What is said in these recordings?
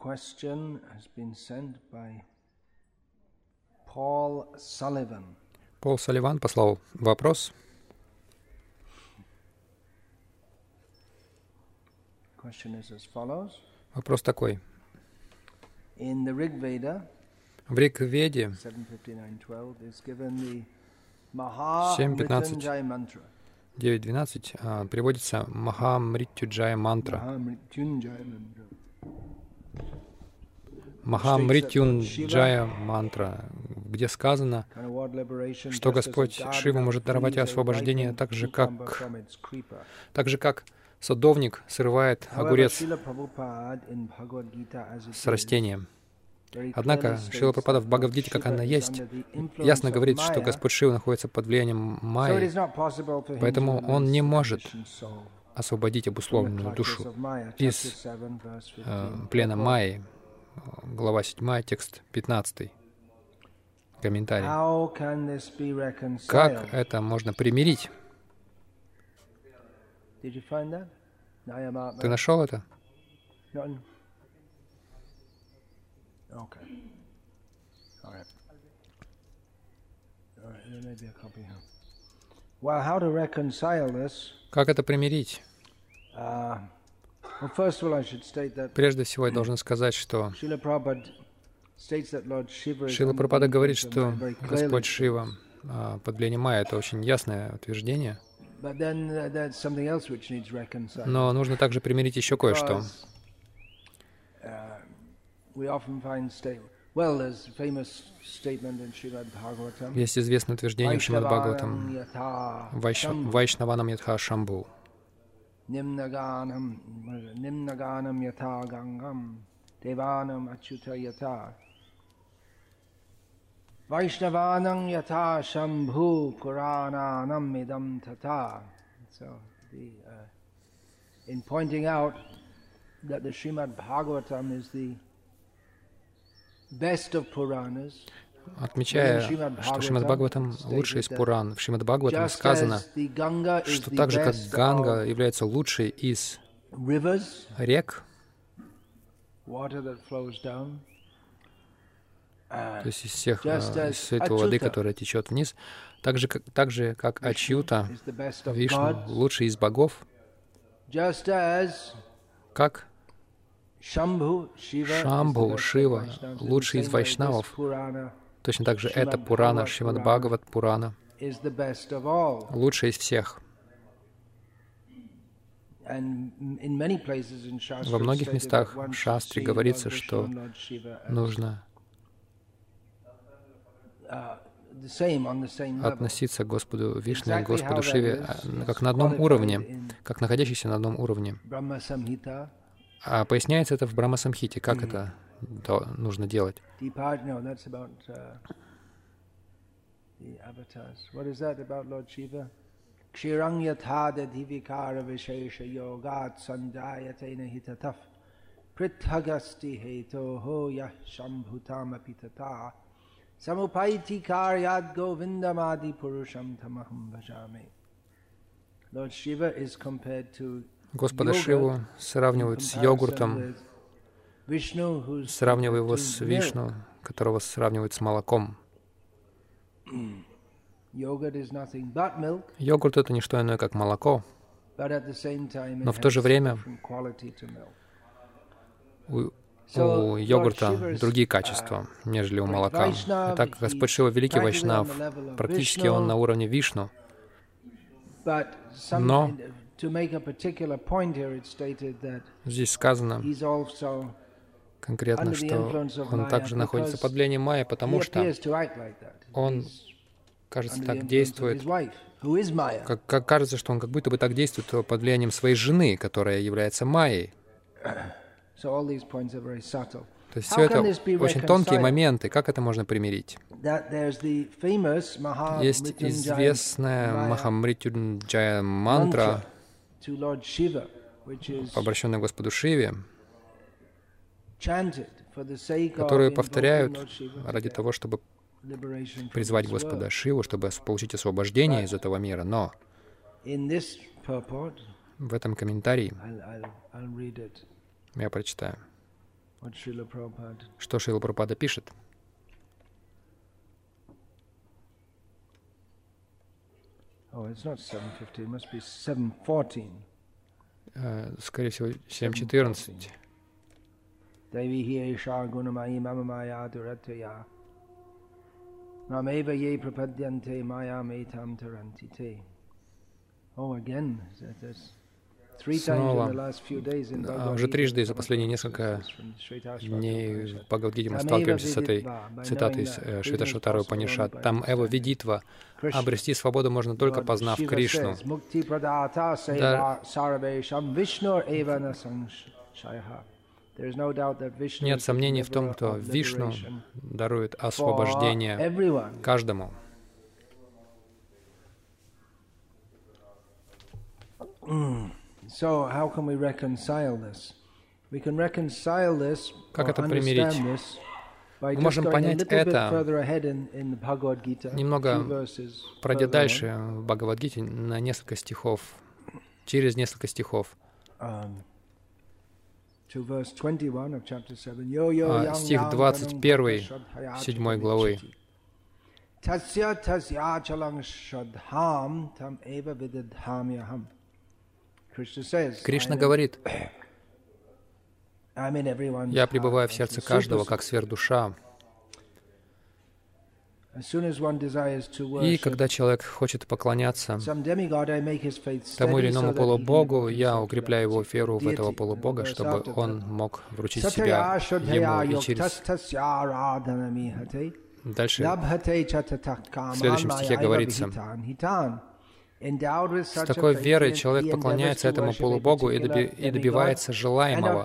question has been sent by Paul Sullivan. Пол Салливан послал вопрос. Question is as follows. Вопрос такой. In the Rig Veda, В Риг-веде 7:59-12 is given the Maha 7:15. Mrityunjaya mantra. 9.12 приводится Маха Мритюджая мантра. Maha Mrityunjaya mantra. Маха Мритюнджая мантра, где сказано, Kind of word liberation, что just as a Господь gardener Шива может даровать frees a освобождение ripened так же, cucumber как from its creeper. садовник срывает However, огурец Srila Prabhupada in Bhagavad Gita as it с is, растением. very Однако clearly Шрила states Прабхупада that в Lord Бхагавадгите, как Shiva она is есть, under the influence ясно of говорит, что Maya, Господь Шива находится под влиянием so it Майи, is not possible for him поэтому to он не release the может conditioned soul освободить from the обусловленную clutches душу of Maya. из Chapter 7, verse 15. плена Purport. Майи. Глава 7, текст 15. Комментарий. How can this be Как reconciled? это можно примирить? Did you find that? Nayama- Ты нашел это? None? Okay. All right. All right, there may be a copy here. Well, how to reconcile this? Как это примирить? Well, first of all, I should state that Прежде всего, я должен сказать, что Srila Prabhupada states that Lord Shiva is Шрила under the Прабхупада говорит, influence of что Maya very clearly. Господь Шива под влиянием Майя — это очень ясное утверждение. But then there's something else which needs reconciling. Но нужно также примирить еще кое-что. Because, we often find well, there's a famous statement in Srimad Bhagavatam. Есть известное утверждение в Шримад Бхагаватам: «Вайшнаванам ятха шамбу». Nimnaganam yatha gangam devanam achyuta yatha Vaishnavanam yatha shambhu Purananam idam tata. So, in pointing out that the Srimad Bhagavatam is the best of Puranas, Отмечая, что Шримад Бхагаватам лучший из Пуран, в Шримад Бхагаватам just сказано, as the Ganga is что the так же, как best Ганга of является лучшей из rivers, рек, water that flows down, то есть из всех, just as из всей той воды, Achyuta которая течет вниз, так же, как Ачьюта, is the best of Вишну, gods, лучший из богов, just as как Shambhu, Shiva, is the Шамбху, best of Шива, Vaishnavas. In the лучший из same way, this вайшнавов. Purana Точно так же эта Шримад Пурана, Бхагават Шримад Пурана, Бхагават Пурана, is the best of all. лучшая из всех. And in many places in Shastra, Во it's многих stated местах that one в should Шастре see говорится, Lord Vishnu что and Lord Shiva as нужно the same, on the same level. относиться к Господу Вишну и Exactly Господу how that Шиве is как на одном qualified уровне, in как находящийся на одном уровне. Brahma Samhita. А поясняется это в Брахма-самхите, как это нужно делать. No, that's about the avatars. What is that about Lord Shiva? Kshirang yatha dadhivikara vishesha yogat sanjayate nahitataf prithagasti heto ho yah shambhutam apitata samupaiti karyad govindamadi purusham tamaham bhajame. Lord Shiva is compared to Господа Шиву сравнивают с йогуртом, сравнивая его с Вишну, которого сравнивают с молоком. Йогурт — это не что иное, как молоко, но в то же время у йогурта другие качества, нежели у молока. Итак, Господь Шива — великий вайшнав, практически он на уровне Вишну, но здесь сказано конкретно, что он также находится под влиянием Майи, потому что он, кажется, так действует, как кажется, что он как будто бы так действует под влиянием своей жены, которая является Майей. То есть все это очень тонкие моменты. Как это можно примирить? Есть известная Маха Мритюнджая мантра, обращенная к Господу Шиве, которую повторяют ради того, чтобы призвать Господа Шиву, чтобы получить освобождение из этого мира. Но в этом комментарии я прочитаю. Что Шрила Прабхупада пишет? Скорее всего, 7:14. Снова, уже трижды за последние несколько дней в Бхагавад-гите мы сталкиваемся с этой цитатой из Швета-Шватара Упанишад. Там Эва Видитва. Обрести свободу можно только познав Кришну. Нет сомнений в том, что Вишну дарует освобождение каждому. Как это примирить? Мы можем понять это, немного пройдя дальше в Бхагавад-гите на несколько стихов, через несколько стихов. Стих 21, 7 главы. Кришна говорит: «Я пребываю в сердце каждого, как сверхдуша». И когда человек хочет поклоняться тому или иному полубогу, я укрепляю его веру в этого полубога, чтобы он мог вручить себя ему и через... Дальше в следующем стихе говорится: с такой верой человек поклоняется этому полубогу и добивается желаемого.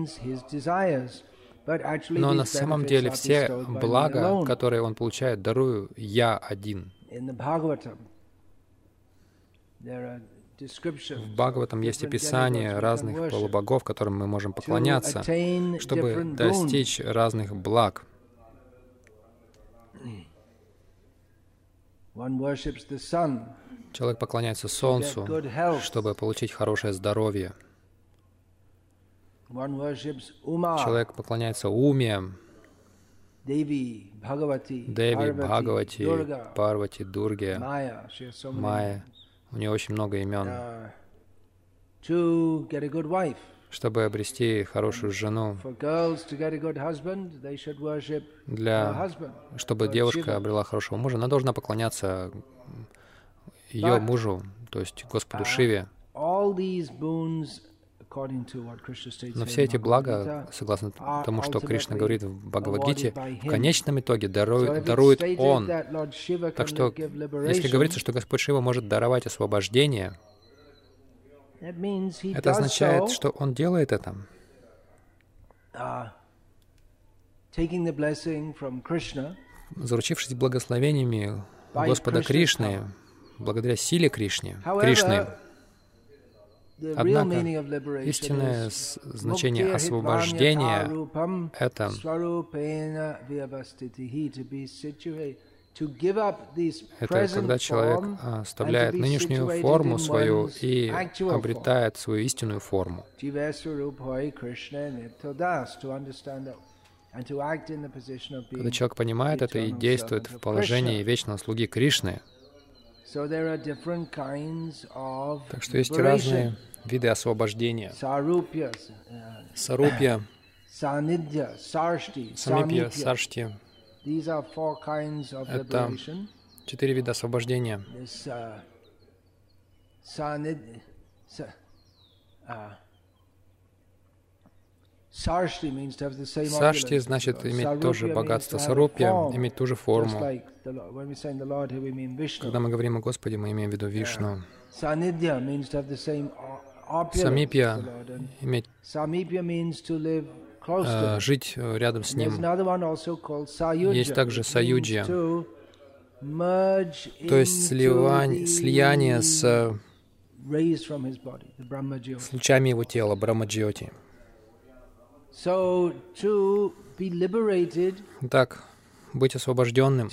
Но на самом деле все блага, которые он получает, дарую я один. В Бхагаватам есть описание разных полубогов, которым мы можем поклоняться, чтобы достичь разных благ. Человек поклоняется Солнцу, чтобы получить хорошее здоровье. Человек поклоняется Уме, Деви, Бхагавати, Парвати, Дурге, Майе. У нее очень много имен. Чтобы обрести хорошую жену, чтобы девушка обрела хорошего мужа, она должна поклоняться ее мужу, то есть Господу Шиве. Но все эти блага, согласно тому, что Кришна говорит в Бхагавад-гите, в конечном итоге дарует Он. Так что, если говорится, что Господь Шива может даровать освобождение, это означает, что Он делает это. Заручившись благословениями Господа Кришны, благодаря силе Кришны. Однако истинное значение освобождения — это когда человек оставляет нынешнюю форму свою и обретает свою истинную форму. Когда человек понимает это и действует в положении вечного слуги Кришны. Так что есть разные виды освобождения. Сарупья, Самипья, Саршти. Это 4 вида освобождения. Саршти значит иметь тоже богатство. Сарупья — иметь ту же форму. Когда мы говорим о Господе, мы имеем в виду Вишну. Самипья — иметь, жить рядом с Ним. Есть также Саюджья, то есть слияние с лучами Его тела, Брахмаджьоти. Так, быть освобожденным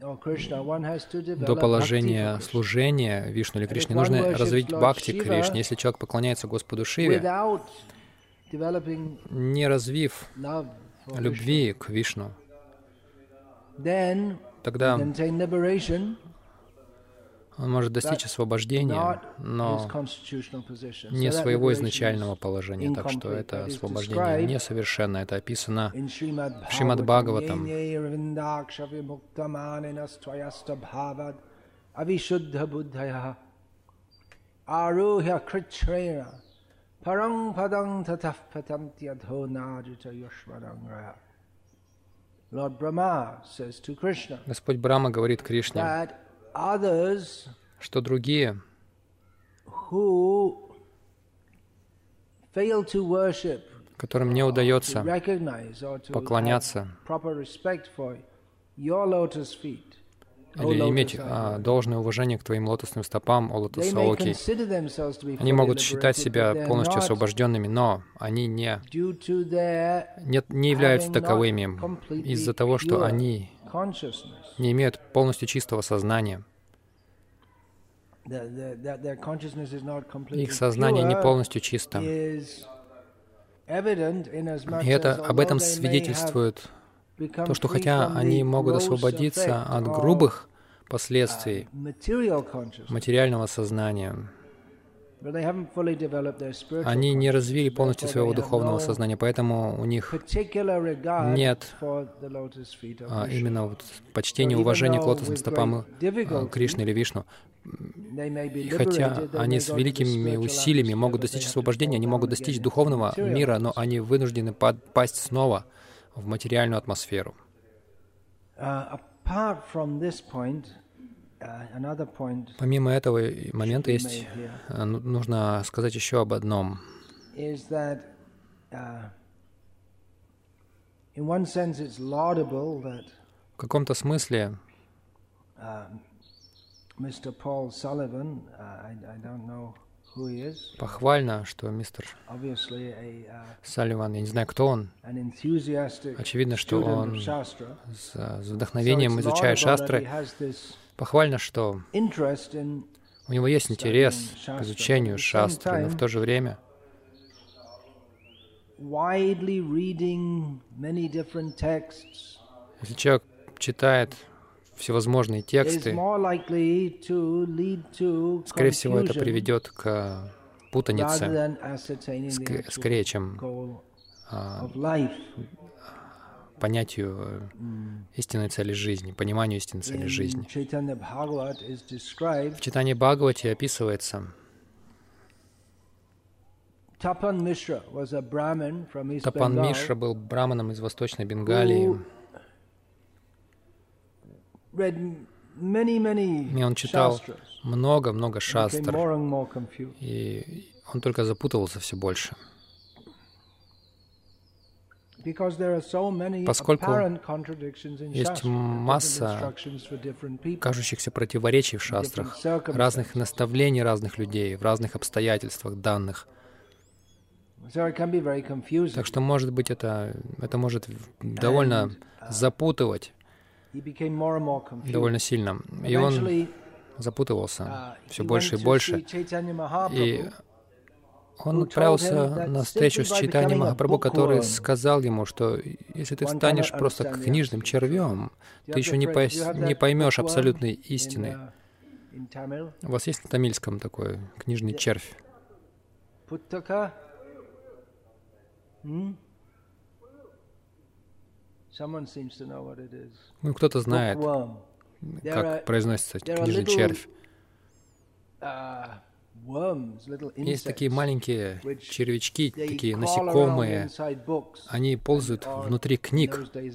до положения служения Вишну или Кришне, нужно развить бхакти к Кришне. Если человек поклоняется Господу Шиве, не развив любви к Вишну, тогда он может достичь освобождения, но не своего изначального положения. Так что это освобождение несовершенно. Это описано в Шримад Бхагаватам. Господь Брахма говорит Кришне, что другие, которым не удается поклоняться или иметь должное уважение к твоим лотосным стопам, о лотос Аоки, они могут считать себя полностью освобожденными, но они не являются таковыми из-за того, что они не имеют полностью чистого сознания. Их сознание не полностью чисто. И об этом свидетельствует то, что хотя они могут освободиться от грубых последствий материального сознания, они не развили полностью своего духовного сознания, поэтому у них нет именно почтения, уважения к лотосным стопам Кришны или Вишну. И хотя они с великими усилиями могут достичь освобождения, они могут достичь духовного мира, но они вынуждены пасть снова в материальную атмосферу. Помимо этого момента нужно сказать еще об одном. В каком-то смысле похвально, что мистер Салливан, я не знаю, кто он, очевидно, что он с вдохновением изучает шастры. Похвально, что у него есть интерес к изучению шастры, но в то же время если человек читает всевозможные тексты, скорее всего, это приведет к путанице, скорее, чем понятию истинной цели жизни, пониманию истинной цели жизни. В Чайтанья Бхагавате описывается, Тапан Мишра был браманом из Восточной Бенгалии, и он читал много-много шастр, и он только запутывался все больше. Поскольку есть масса кажущихся противоречий в шастрах, разных наставлений разных людей, в разных обстоятельствах данных. Так что, может быть, это может довольно запутывать довольно сильно. И он запутывался все больше и больше. И он отправился на встречу с Чайтаньей Махапрабху, который сказал ему, что если ты станешь просто книжным червем, ты еще не поймешь абсолютной истины. У вас есть на тамильском такой книжный червь? Ну, кто-то знает, как произносится книжный червь. Есть такие маленькие червячки, такие насекомые. Они ползают внутри книг.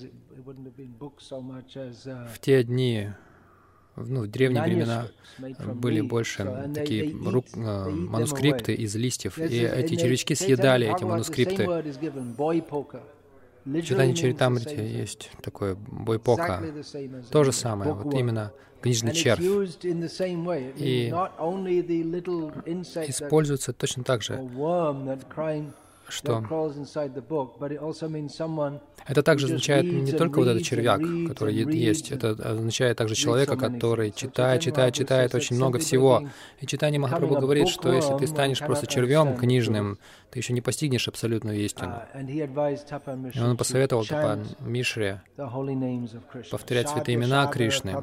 В те дни, в древние времена, были больше такие манускрипты из листьев. И эти червячки съедали эти манускрипты. В Чайтанья Чаритамрите есть такое бойпока. То же самое, вот именно книжный червь. И используется точно так же что это также означает не только вот этот червяк, который есть, это означает также человека, который читает очень много всего. И читание Махапрабху говорит, что если ты станешь просто червем книжным, ты еще не постигнешь абсолютную истину. И он посоветовал Тапан Мишре повторять святые имена Кришны.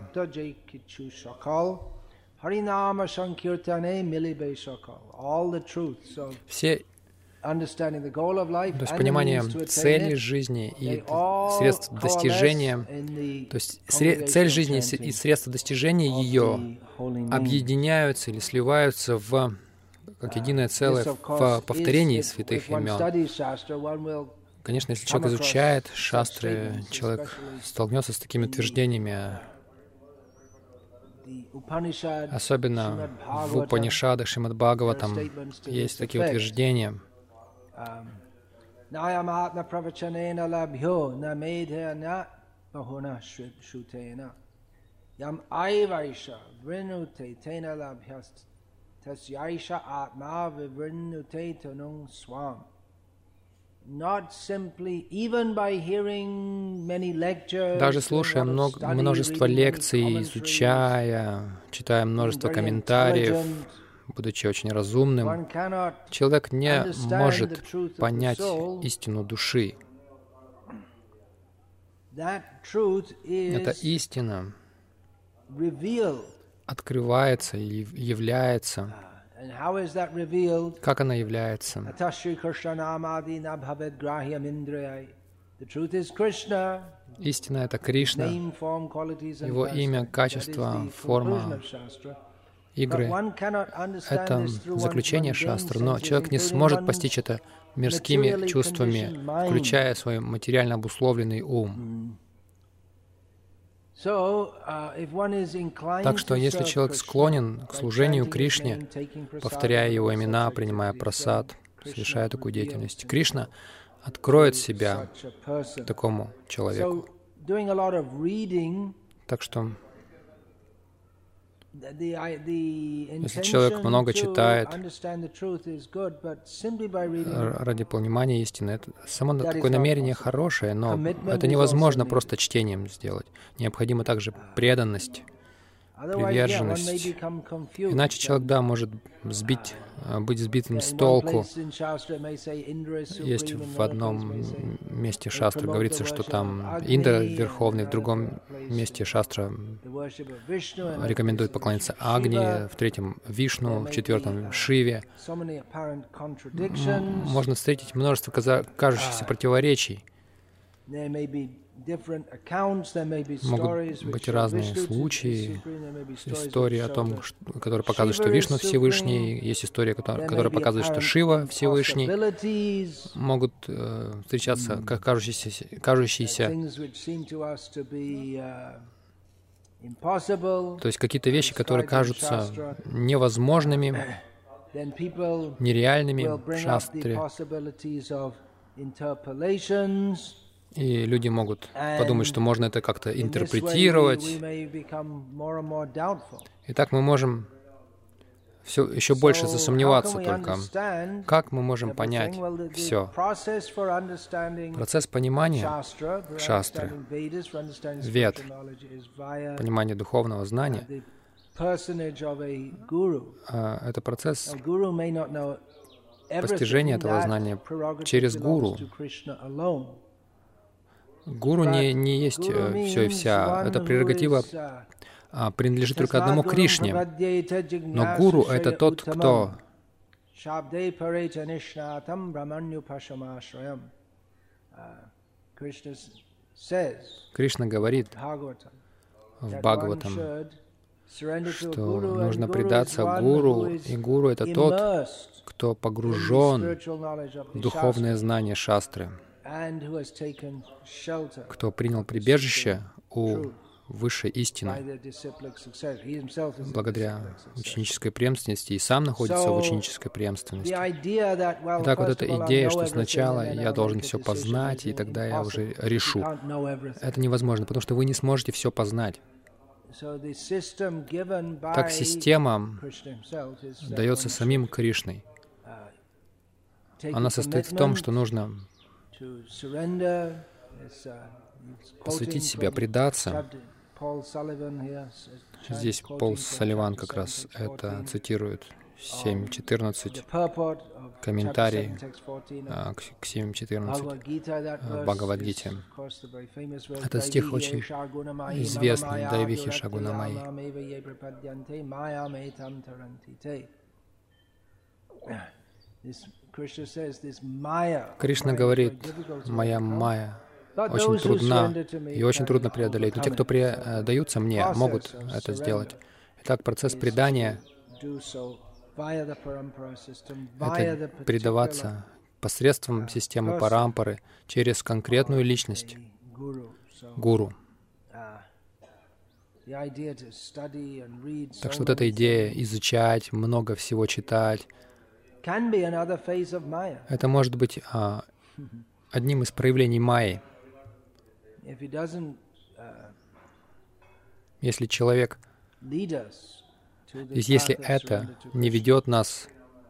Все, то есть понимание цели жизни и средств достижения, то есть цель жизни и средства достижения ее объединяются или сливаются в как единое целое в повторении святых имен. Конечно, если человек изучает шастры, человек столкнется с такими утверждениями. Особенно в Упанишадах, Шримад Бхагаватам есть такие утверждения. Даже слушая множество лекций, изучая, читая множество комментариев, будучи очень разумным, человек не может понять истину души. Эта истина открывается и является. Как она является? Истина — это Кришна, Его имя, качество, форма, игры. Это заключение шастры, но человек не сможет постичь это мирскими чувствами, включая свой материально обусловленный ум. Так что, если человек склонен к служению Кришне, повторяя Его имена, принимая прасад, совершая такую деятельность, Кришна откроет себя такому человеку. Так что, если человек много читает ради понимания истины, это само такое намерение хорошее, но это невозможно просто чтением сделать. Необходима также преданность, приверженность. Иначе человек, да, может быть сбитым с толку. Есть в одном месте шастры говорится, что там Индра Верховный, в другом месте шастра рекомендует поклониться Агни, в третьем Вишну, в четвертом Шиве. Можно встретить множество кажущихся противоречий. Могут быть разные случаи, истории о том, которые показывают, что Вишну Всевышний, есть история, которая показывает, что Шива Всевышний. Могут встречаться как кажущиеся, то есть какие-то вещи, которые кажутся невозможными, нереальными в шастре. И люди могут подумать, что можно это как-то интерпретировать. И так мы можем еще больше засомневаться только. Как мы можем понять все? Процесс понимания шастры, вед, понимание духовного знания, это процесс постижения этого знания через гуру. Гуру не есть все и вся. Эта прерогатива принадлежит только одному Кришне. Но гуру — это тот, кто Кришна говорит в Бхагаватам, что нужно предаться гуру, и гуру — это тот, кто погружен в духовное знание шастры, кто принял прибежище у высшей истины благодаря ученической преемственности и сам находится в ученической преемственности. Итак, вот эта идея, что сначала я должен все познать, и тогда я уже решу. Это невозможно, потому что вы не сможете все познать. Так система дается самим Кришной она состоит в том, что нужно посвятить себя, предаться. Здесь Пол Салливан как раз это цитирует, 7.14, комментарий к 7.14 в Бхагавад-гите. Этот стих очень известный, Дайвихи Шагунамайи. Кришна говорит, моя майя очень трудна, и очень трудно преодолеть. Но те, кто предаются мне, могут это сделать. Итак, процесс предания — это предаваться посредством системы парампары через конкретную личность, гуру. Так что вот эта идея изучать, много всего читать, это может быть одним из проявлений майи. Если человек, если это не ведет нас,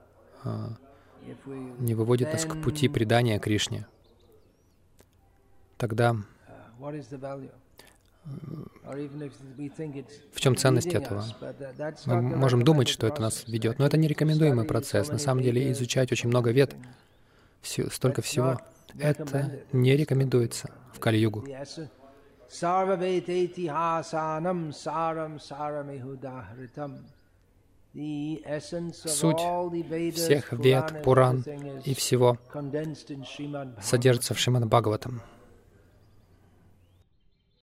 не выводит нас к пути предания Кришне, тогда в чем ценность этого? Мы можем думать, что это нас ведет, но это не рекомендуемый процесс. На самом деле изучать очень много вед, столько всего, это не рекомендуется в Кали-югу. Суть всех вед, Пуран и всего содержится в Шримад Бхагаватам.